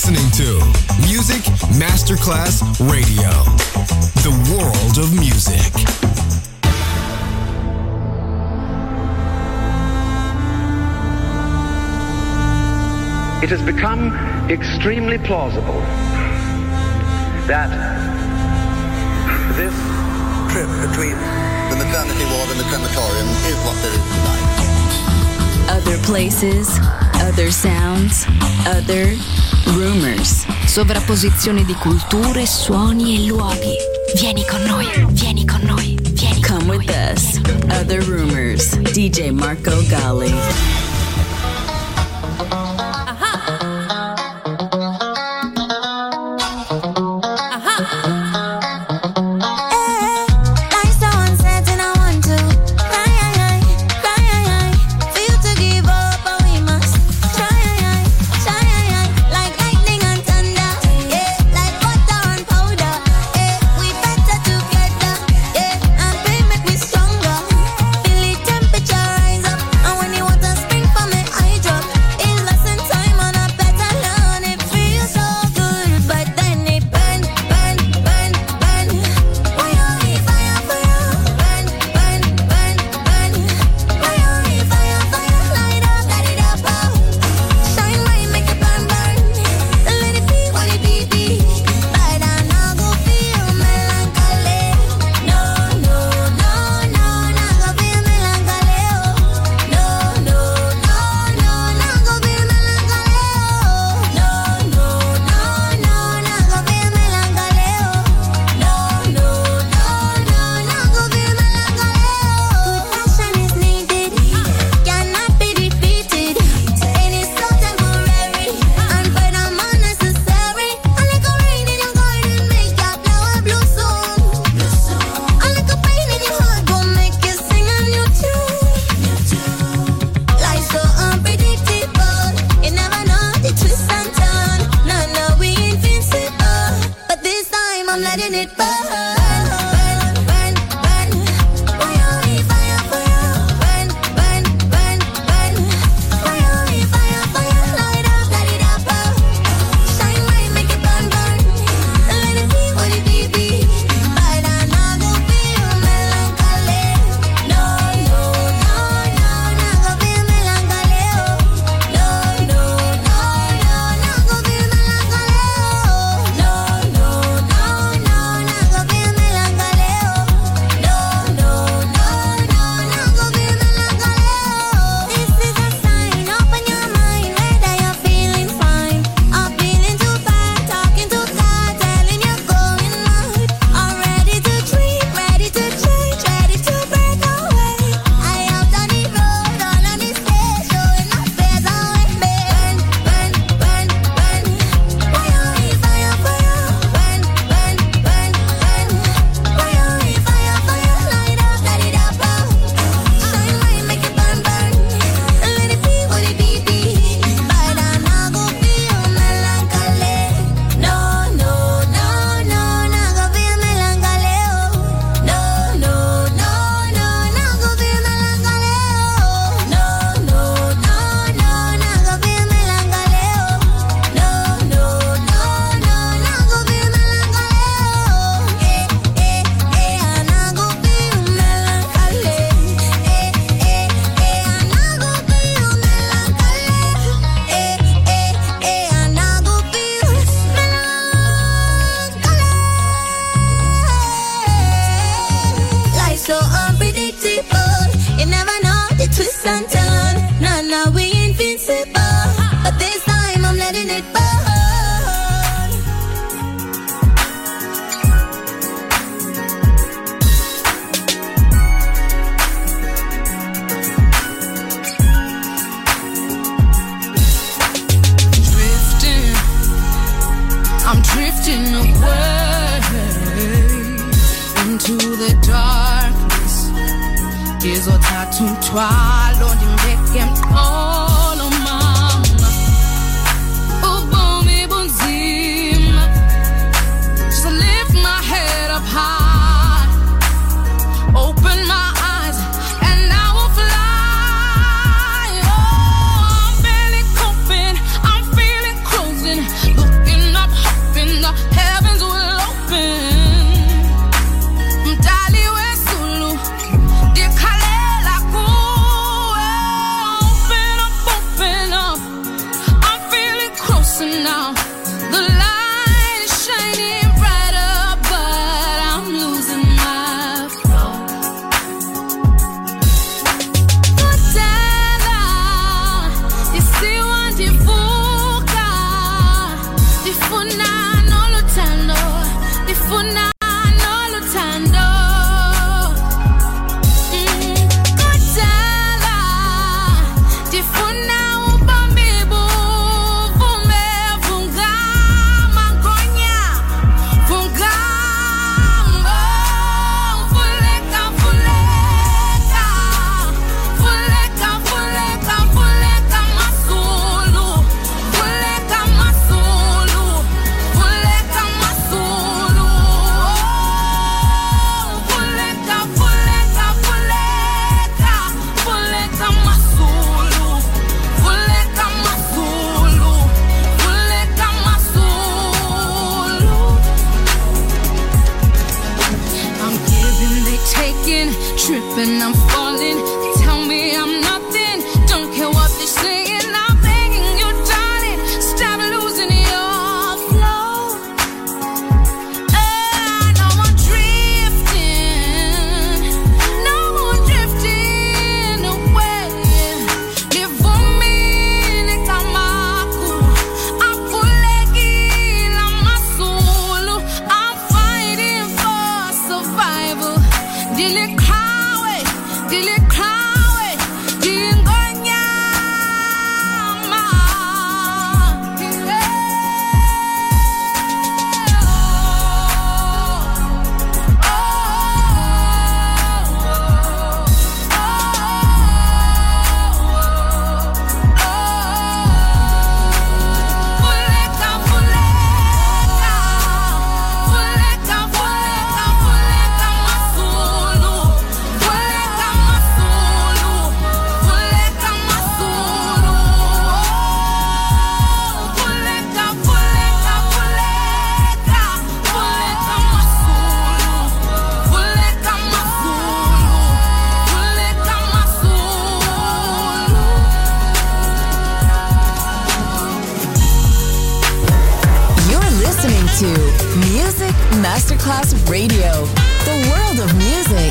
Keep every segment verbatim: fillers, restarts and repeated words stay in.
listening to Music Masterclass Radio, the world of music. It has become extremely plausible that this trip between the maternity ward and the crematorium is what there is tonight. Other places, other sounds, other rumors. Sovrapposizione di culture, suoni e luoghi. Vieni con noi, vieni con noi, vieni con Come with us. Other Rumors. D J Marco Gally. Look slipping, I'm falling. Tell me I'm nothing, don't care what they're saying. I'm begging you, darling, stop losing your flow. Ah, no more drifting, no more drifting away. Live for me, Nekamaku. I'm full my soul. I'm fighting for survival. Dile kawe, dile kawe, dingonyama. Fuleka, fuleka, fuleka, fuleka, fuleka masulu, fuleka masulu, fuleka masulu, fuleka, fuleka, fuleka, fuleka masulu, fuleka masulu, fuleka masulu. You're listening to Music Masterclass Radio, the world of music.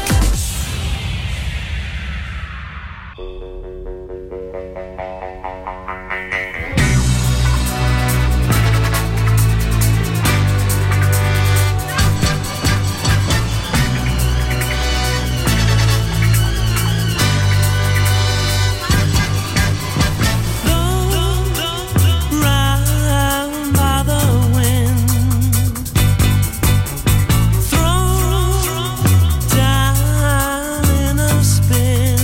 Round by the wind, thrown down in a spin.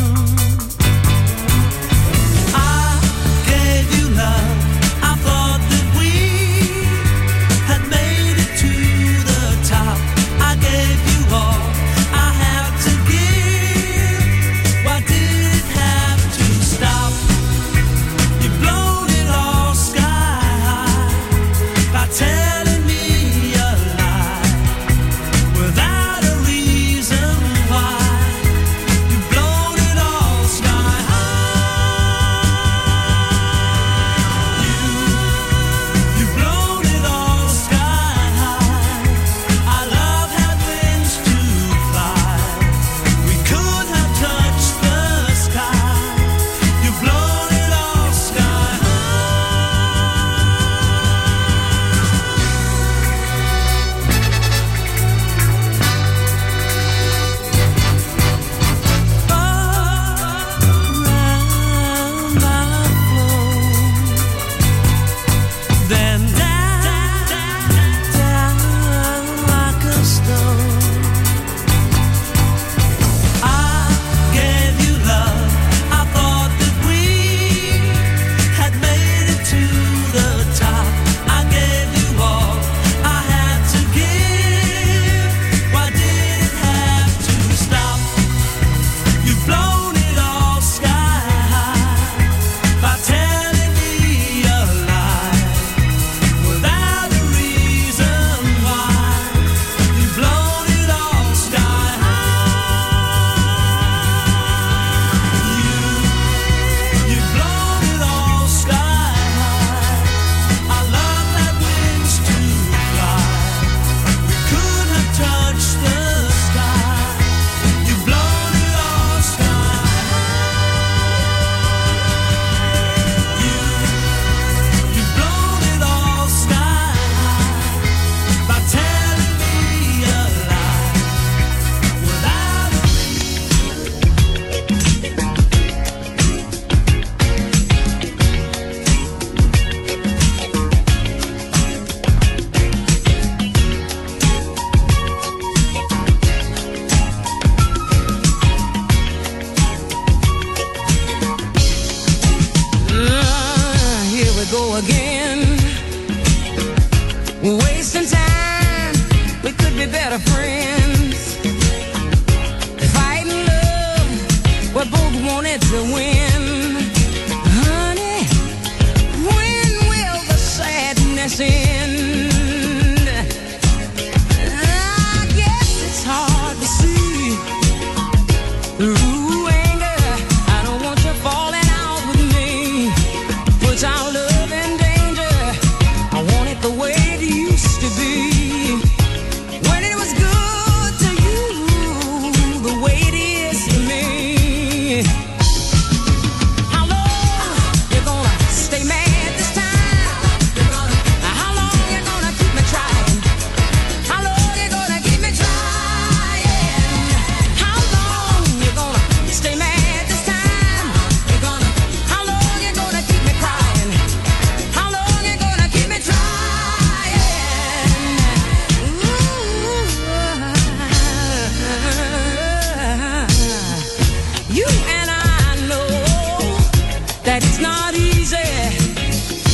I gave you love. I thought that we had made it to the top. I gave you all I had to give. Why did it have to stop? You've blown it all sky high by telling me a lie without a reason why. You've blown it all sky high. You, you've blown it all sky high. Our love had wings to fly. We could have touched the sky. You've blown it all sky high. Around my flow, then down, down like a stone. I gave you love. I thought that we had made it to the top. I gave you all I had to give. Why did it have to stop? You've blown it all sky high by telling me a lie without a reason why. You've blown it all sky high. You, you've blown it all sky high. Our love had wings to fly. We could have touched the sky. You've blown it all sky high. You, you've blown it all sky high by telling me a lie without a Ah, here we go again. Wasting time, we could be better friends. Fighting love, we both wanted to win. Honey, when will the sadness end? I guess it's hard to see the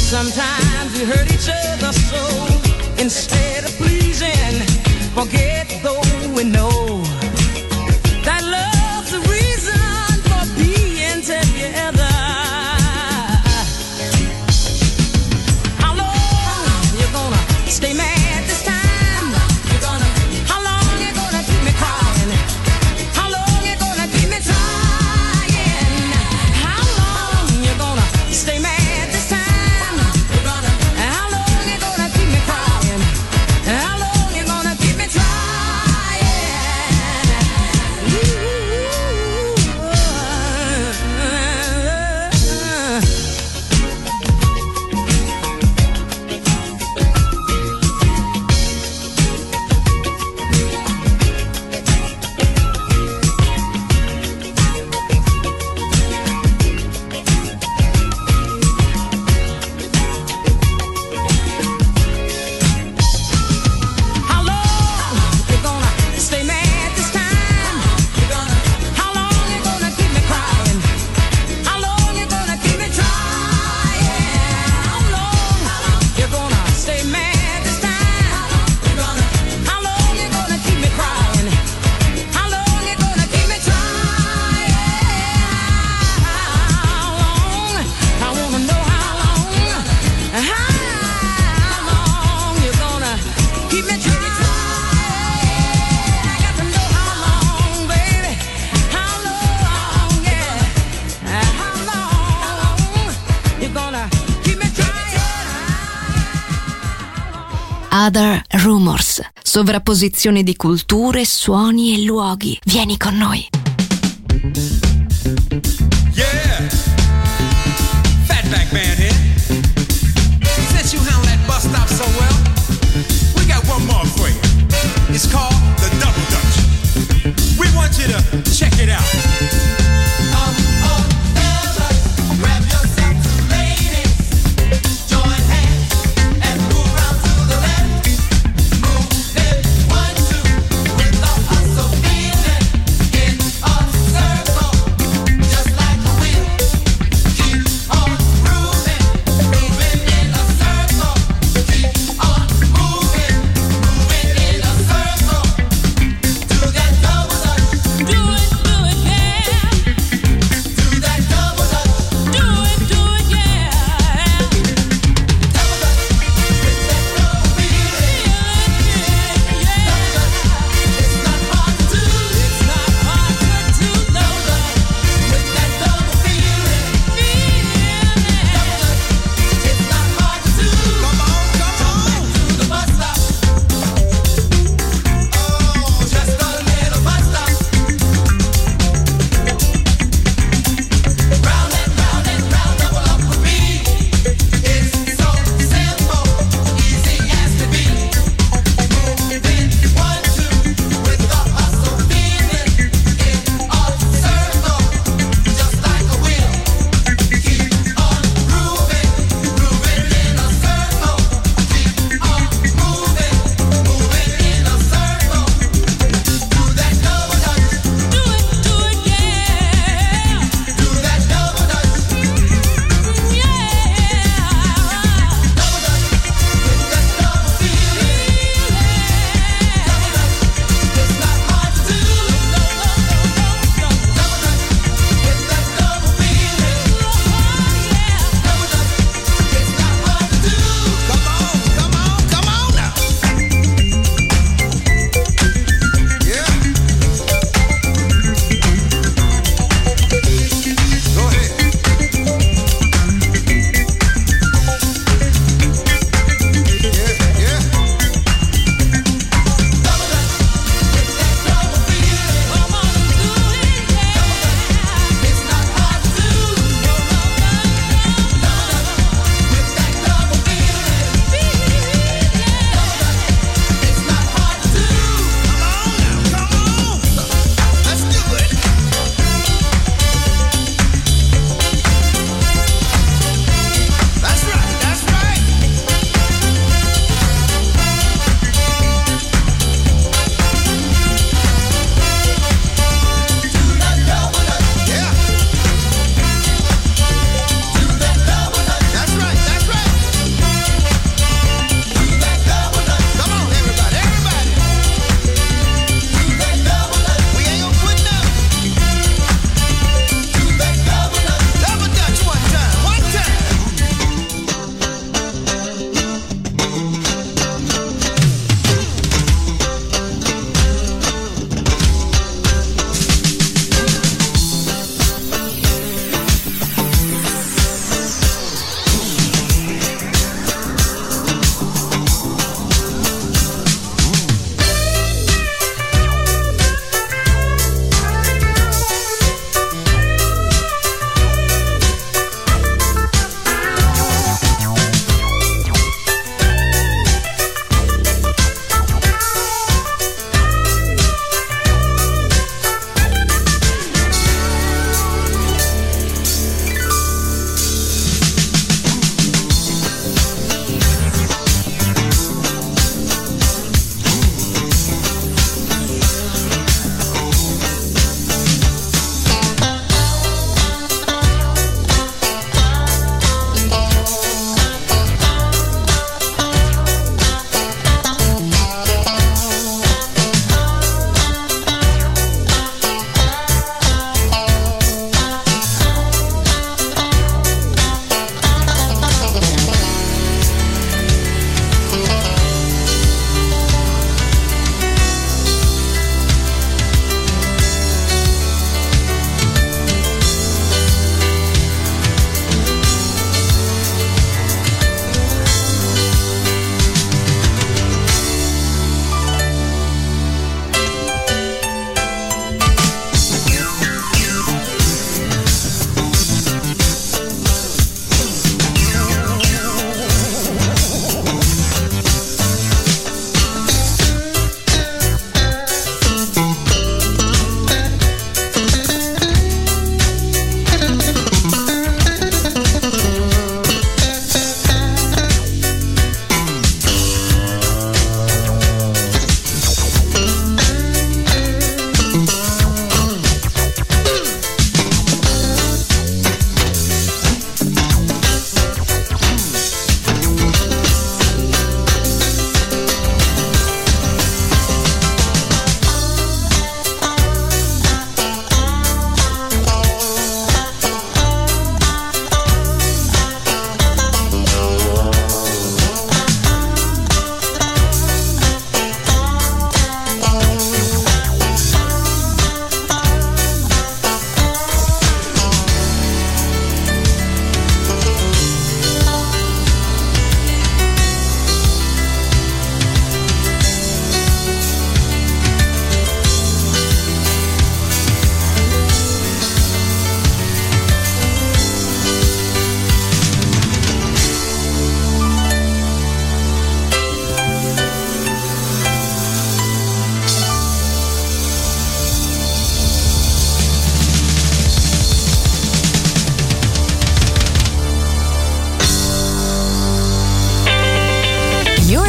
Sometimes we hurt each other so, instead of pleasing, forget though we know that love's the reason for being together. How long you gonna stay mad this time? You gonna, how long you gonna keep me crying? How long you gonna keep me trying? How long you gonna stay mad? Other Rumors, sovrapposizione di culture, suoni e luoghi. Vieni con noi. Yeah, Fatback Man here. Since you handle that bus stop so well, we got one more for you. It's called the Double Dutch. We want you to check it out. Um, oh, fellas, grab yourself two ladies, join hands and move around to the left. Move it, one, two, with the hustle feeling in a circle, just like a wheel. Keep on grooving.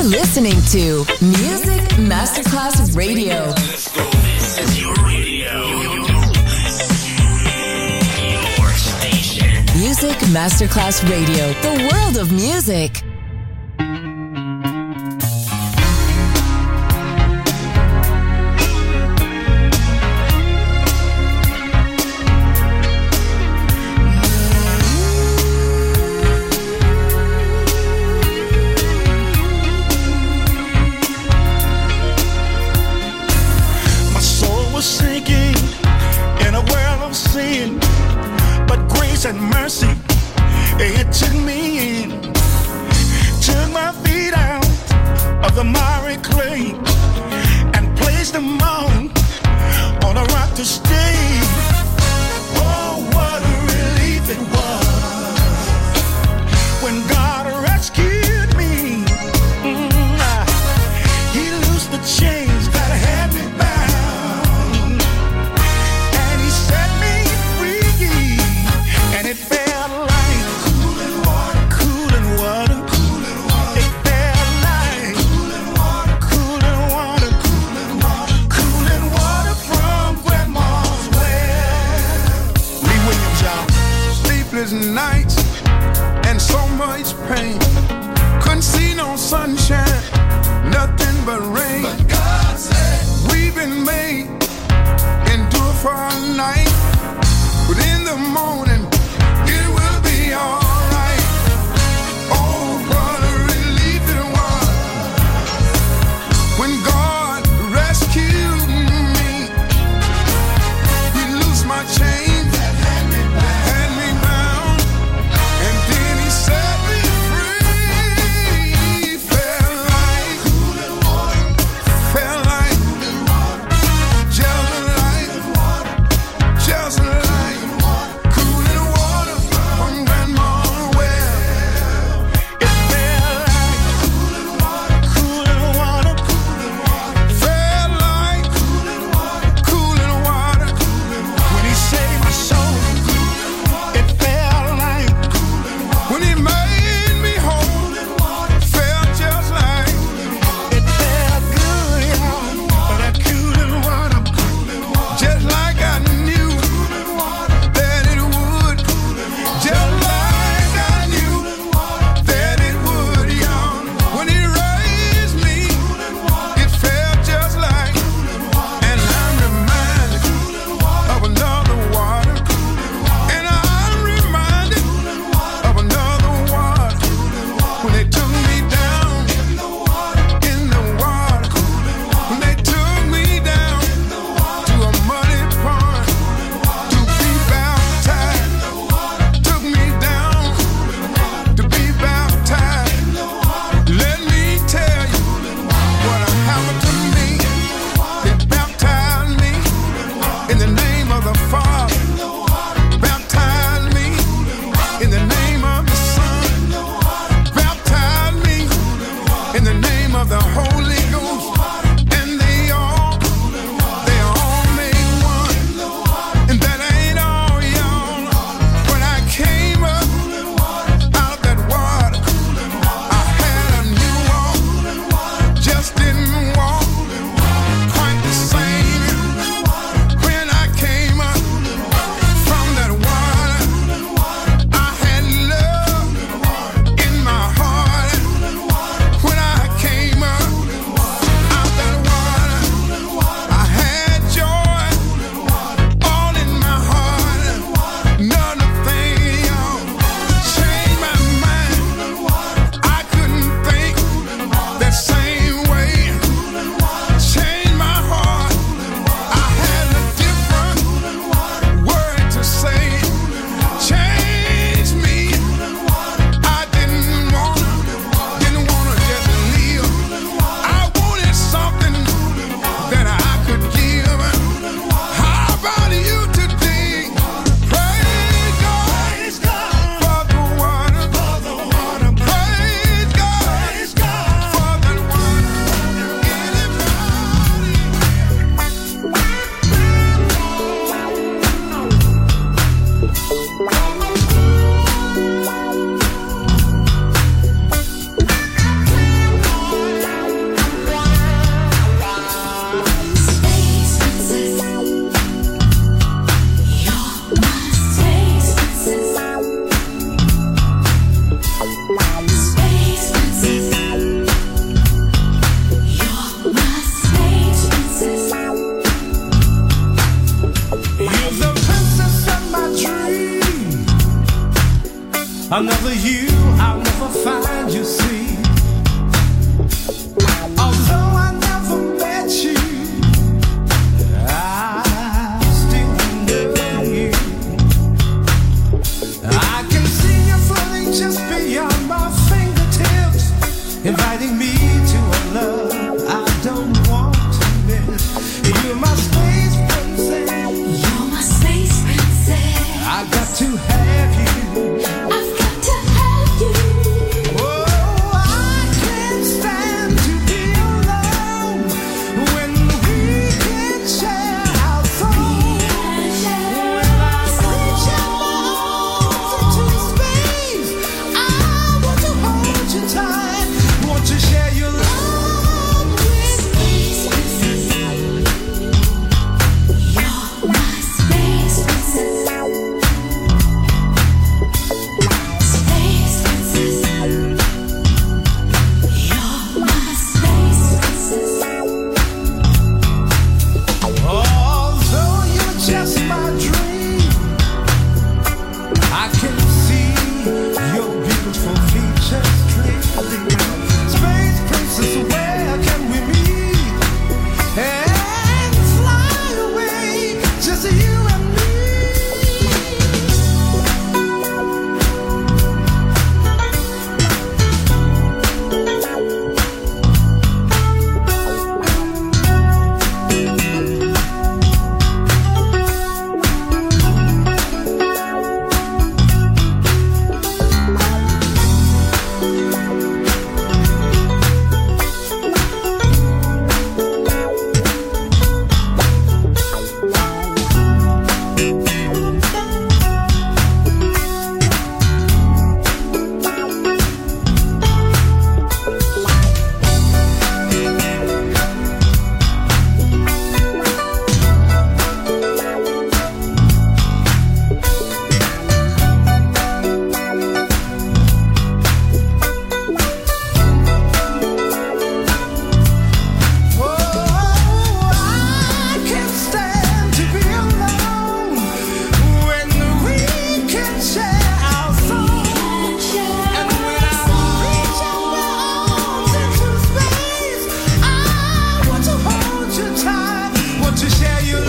listening to Music Masterclass Radio. Let's go. This is your radio. Your station. Music Masterclass Radio. The world of music. And mercy, it took me in, took my feet out of the miry clay and placed them on, on a rock to stay. Oh, what a relief it was when God rescued me. Mm, he loosed the chains that had me bound, and he set me free. And it felt like cooling water, cooling water, cooling water. It felt like cooling water, cooling water, cooling water, cooling water from Grandma's well. Lee Williams, y'all. Sleepless nights and so much pain. Couldn't see no sunshine, nothing but rain. But God said we've been made, endure for a night, but in the morning it will be alright. Oh, what a relief it was when God rescued me. He loosed my chains that had me bound, had me bound, and then he set me free. Felt like cooling water, inviting me to a love I don't want to miss. You're my space princess. You're my space princess. I got to have you. I've got to have you. Oh, I can't stand to be alone when we can share our soul. When I reach out my arms into space, I want to hold you tight. Want to share your love with me. You're my space princess. Space princess. You're my space princess. Although you're just my dream, I can see your beautiful features clearly. Space princess, where can we meet and fly away, just you and me? Oh, I can't stand to be alone when we can share our soul. And when I reach out my arms into space, I want to hold you tight, want to share your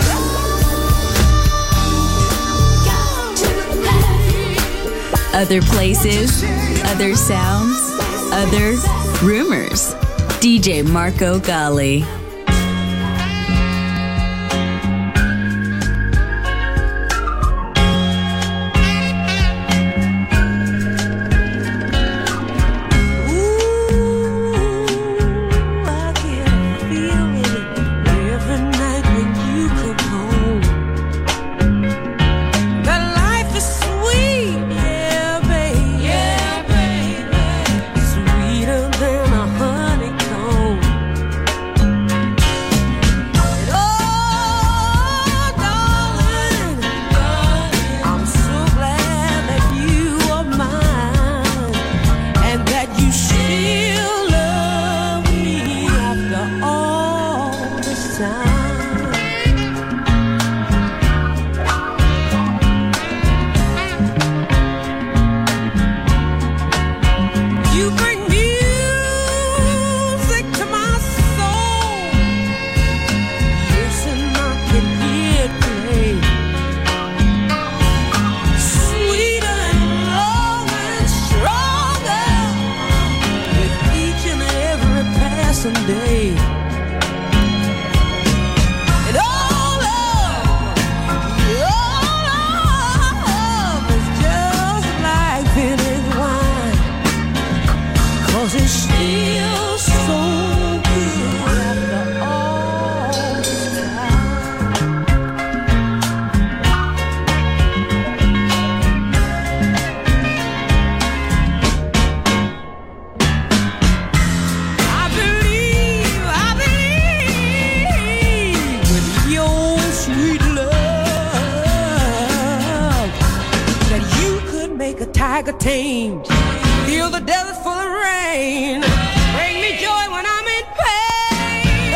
love. Other places, other sounds, other rumors. D J Marco Gally. I get a feeling every night when you come home that life is sweet, yeah, baby, yeah, baby, sweeter than a honeycomb. Oh, darling, I'm so glad that you are mine and that you still love me after all this time. You bring music to my soul. Listen, I can hear it play. Sweeter and longer and stronger with each and every passing day. And all love, all love is just like vintage wine, 'cause it's still so good after all this time. I believe, I believe with your sweet love that you could make a tiger tame, heal the desert full of rain, bring me joy when I'm in pain.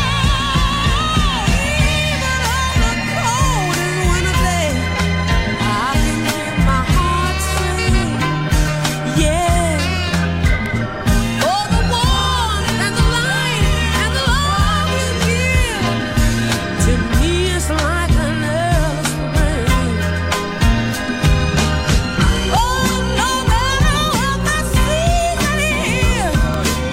Even on the coldest winter day, I can hear my heart sing, yeah. Oh, the warmth and the light and the love you give to me is like an early spring. Oh, no matter what the season is,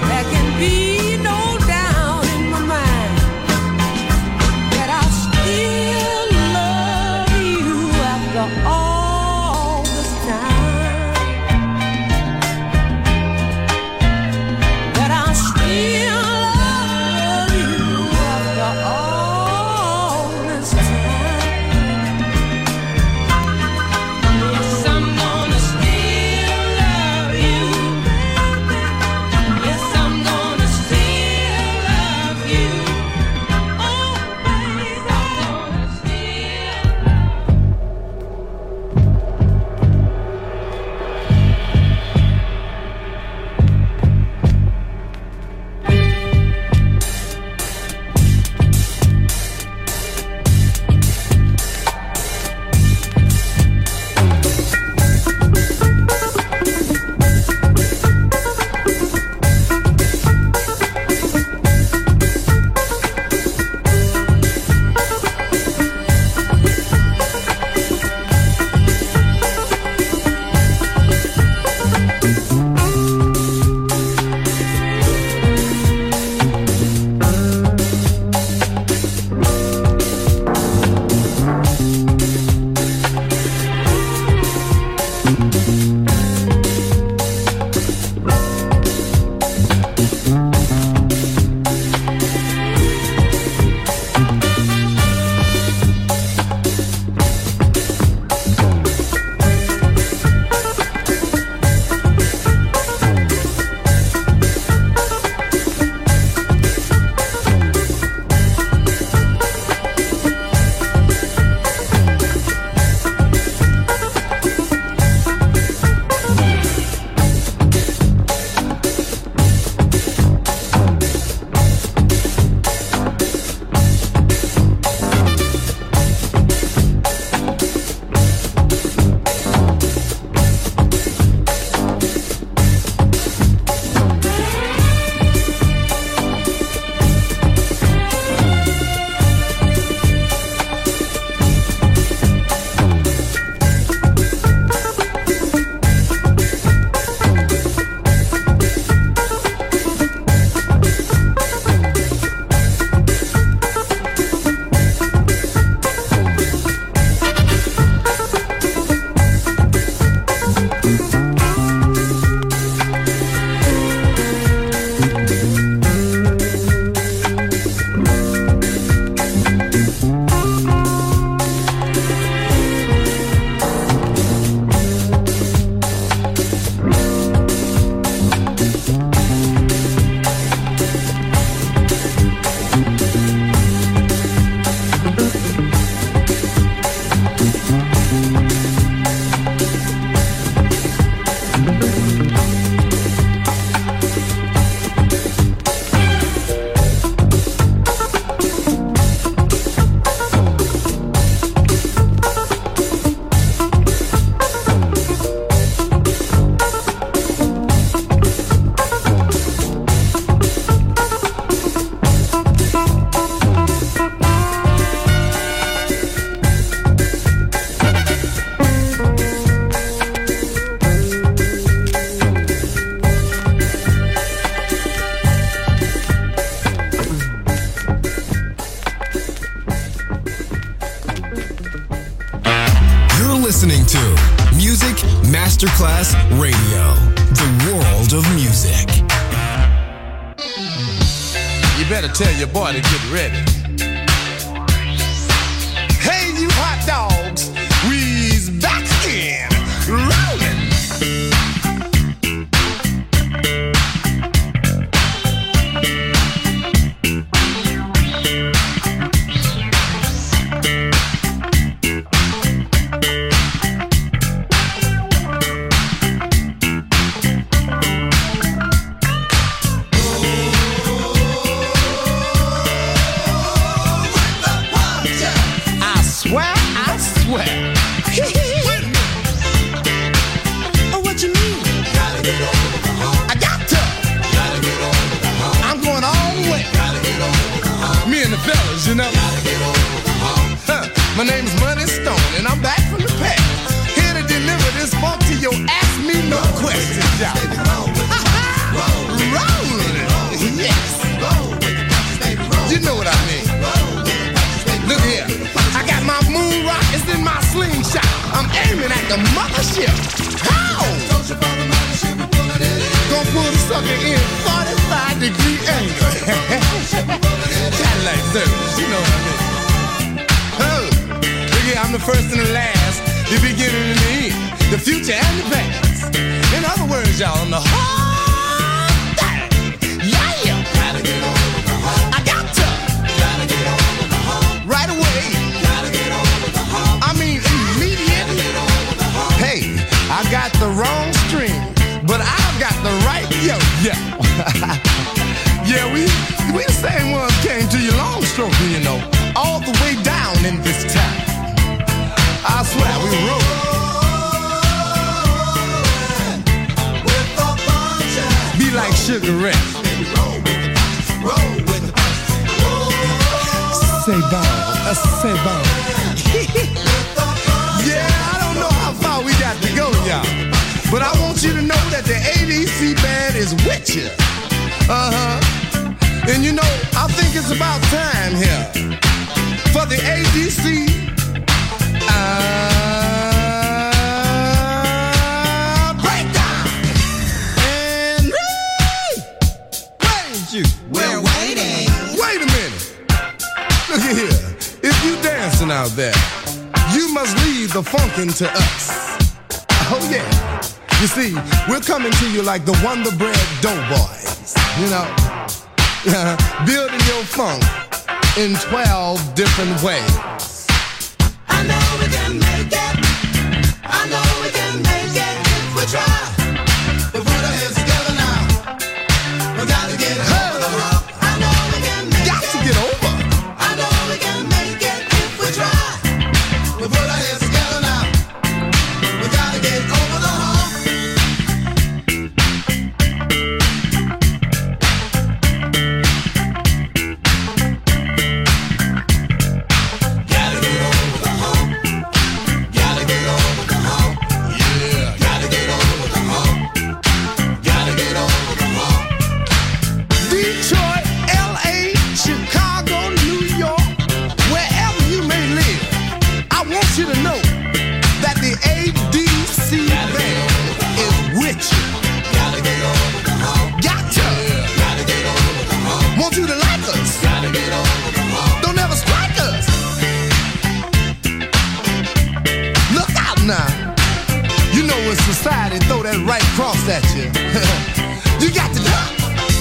listening to Music Masterclass Radio, the world of music. You better tell your boy to get ready. Hey, you hot dogs, we's back again, rolling. You know, huh. My name's Money Stone, and I'm back from the past, here to deliver this funk to your ask me no questions, y'all. Rolling, yes. You know what I mean. Look here, I got my moon rockets in my slingshot. I'm aiming at the mothership. How? Gonna pull the sucker in forty-five degree angle. Cadillac service, you know what I mean. Oh, look here, I'm the first and the last, the beginning and the end, the future and the past. In other words, y'all, I'm the whole thing. Yeah, gotta get over the hump. I got to. Gotta get over the hump. Right away. Gotta get over the hump. I mean, immediately. Hey, I got the wrong string, but I've got the right yo yo. Yeah, we we the same ones came to your long stroke, you know, all the way down in this town. I swear we roll. Be like Sugar Ray. Say bon, uh, say bon. Yeah, I don't know how far we got to go, y'all, but I want you to know that the A D C band is with you. Uh-huh. And you know, I think it's about time here for the A D C uh, breakdown. And Ray, where is you? We're waiting. Wait a minute. Look at here. If you dancing out there, you must leave the funkin' to us. Oh yeah. You see, we're coming to you like the Wonder Bread Doughboys. You know. Uh, building your funk in twelve different ways. I know we can make it. I know we can make it if we try. We put our heads together now. We gotta get over the hump. I know we can make got it. Got to get over. I know we can make it if we try. We put our heads together now. We gotta get over the hump. Society throw that right cross at you. You got to duck.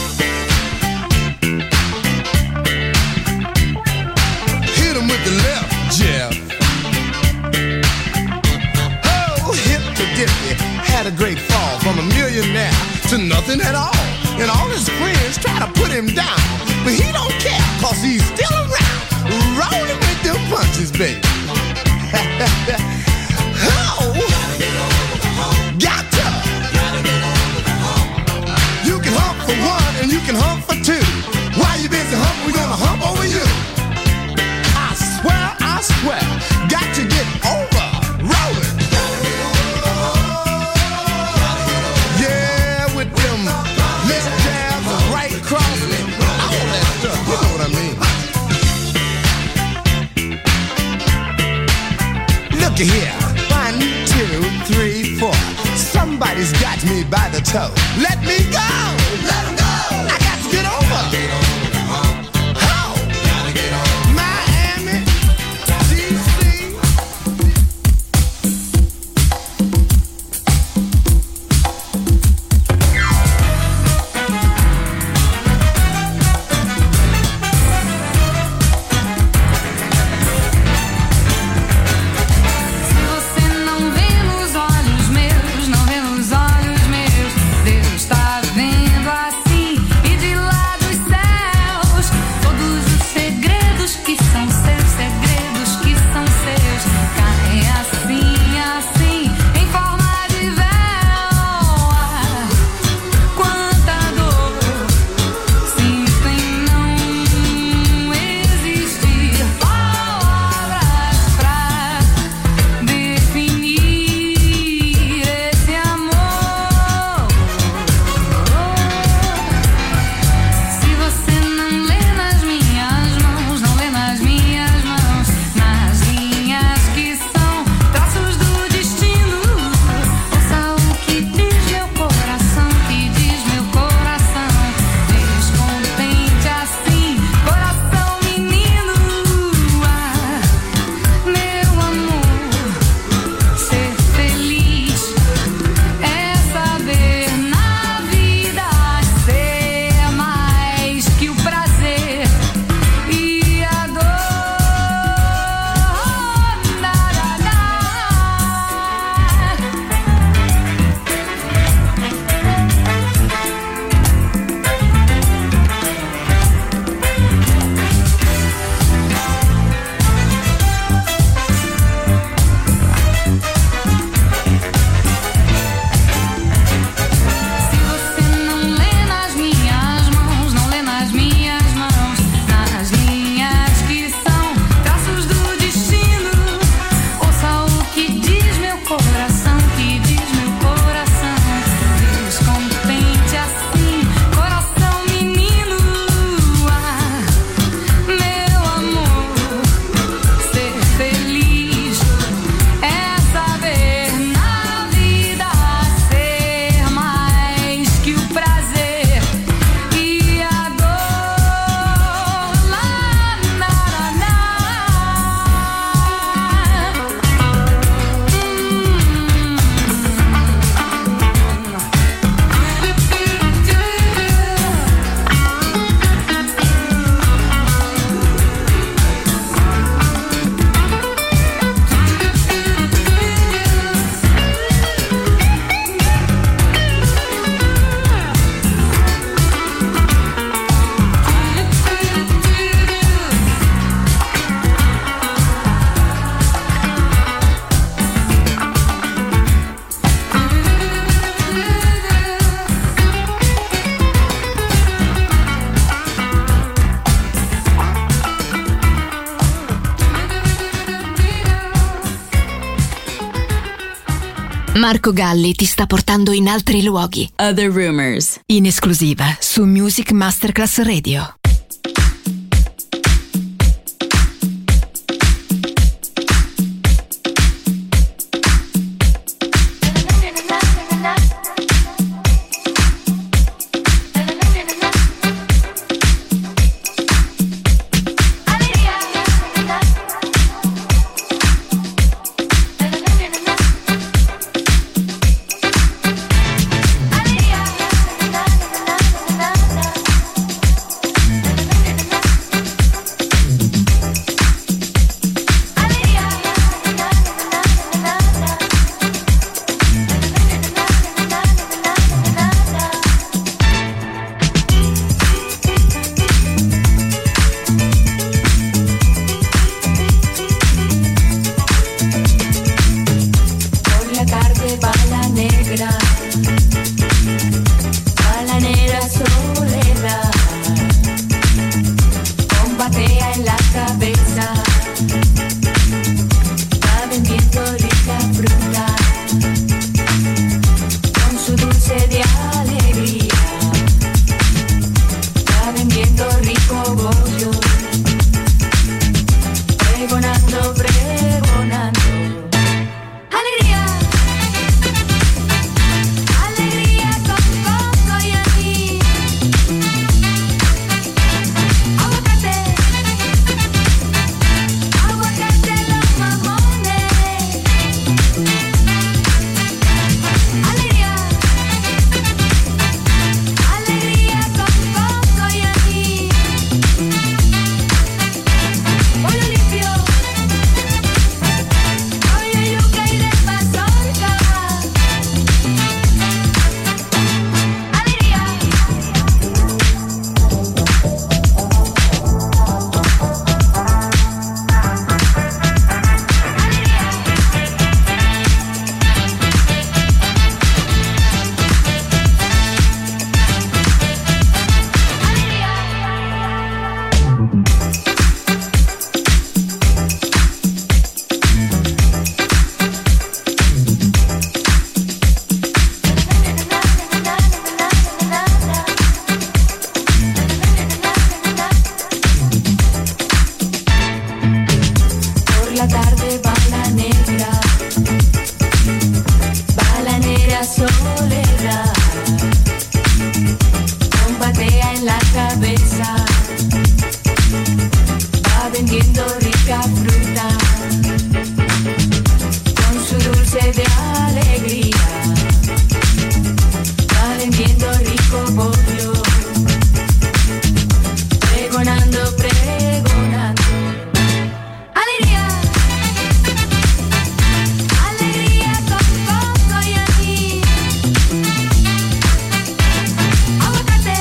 Hit him with the left, Jeff. Oh, hip to dippy. Had a great fall from a millionaire to nothing at all. And all his friends try to put him down, but he don't care, cause he's still around, rolling with them punches, baby. Oh, got to. You can hump for one and you can hump for two. While you busy humping, we gonna hump over you. I swear, I swear, got to get over rolling. Yeah, with them left jabs and right crosses, all that stuff. You know what I mean? Look here, fine. He's got me by the toe. Let me go. Let him go. I got to get over. Get on home. Gotta get on. Miami, D C. Marco Galli ti sta portando in altri luoghi. Other Rumors, in esclusiva su Music Masterclass Radio. cabeza va vendiendo rica fruta con su dulce de alegría, va vendiendo rico pollo, pregonando, pregonando. Alegría, alegría con coco y anís. Aguacate,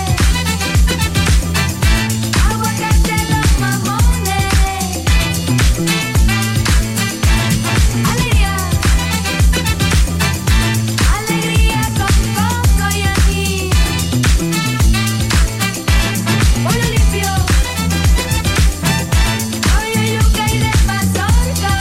aguacate los mamones. Alegría, alegría con coco y anís. Pollo limpio, pollo yuca y de mazorca.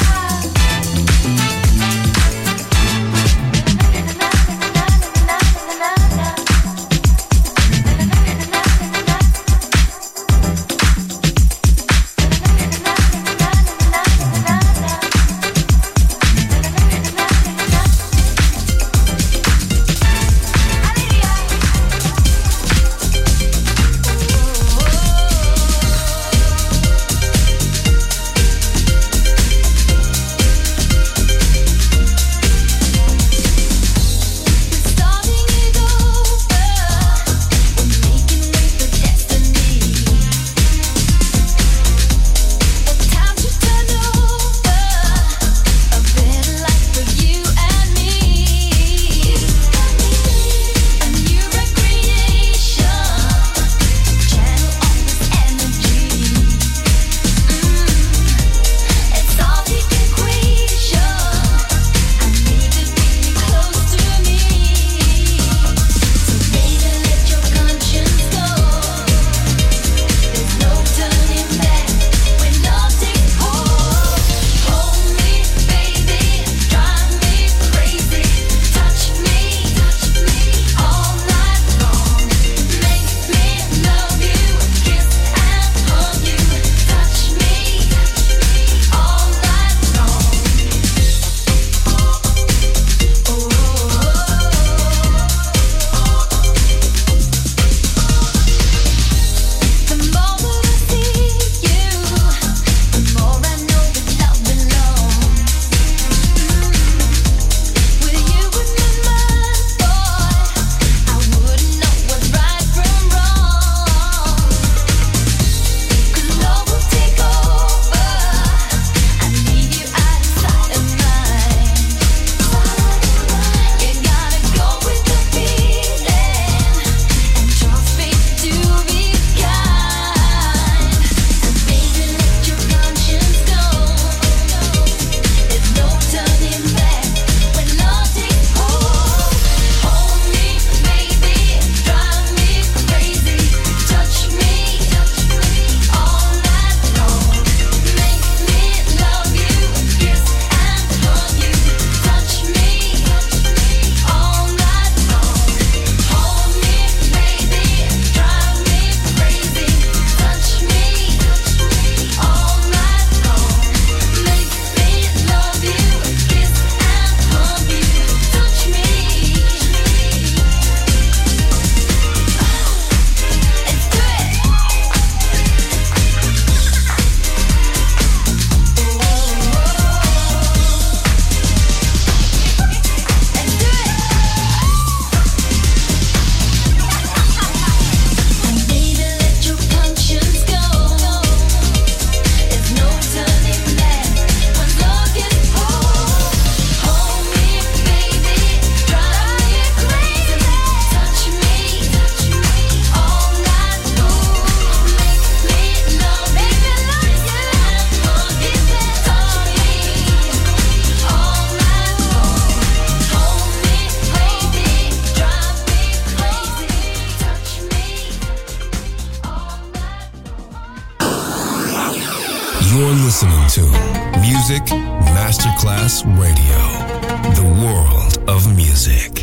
You're listening to Music Masterclass Radio, the world of music.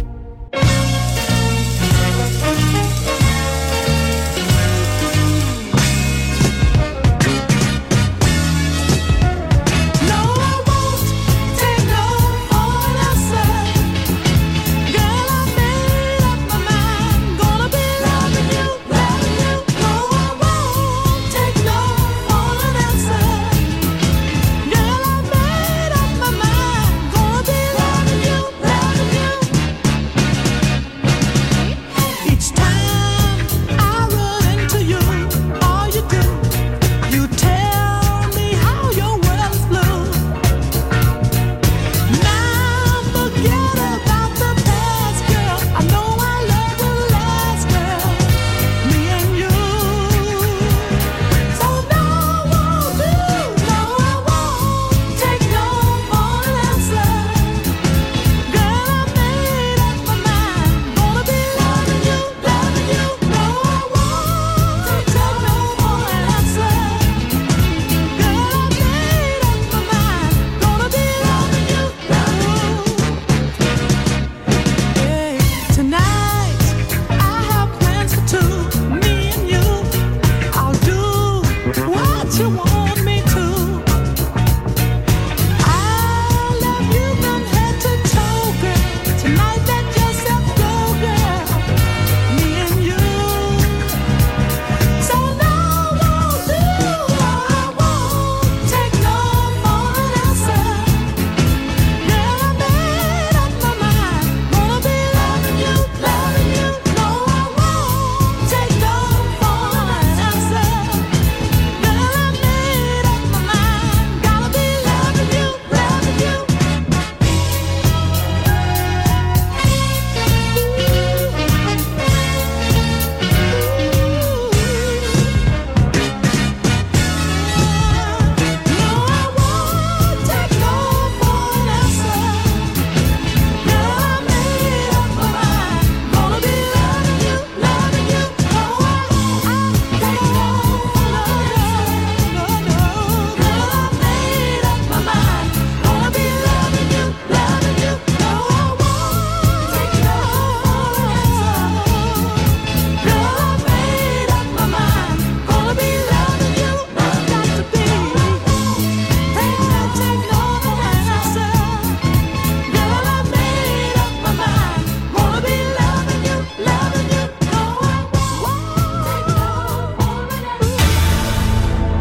Girl, I made up my mind, gonna be loving you, loving you,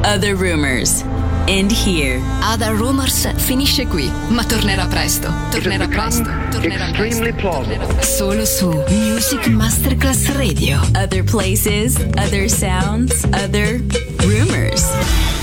Other Rumors. And here. Other Rumors finisce qui, ma tornerà presto. Tornerà presto. Tornerà presto. Solo su Music Masterclass Radio. Other places, other sounds, other rumors.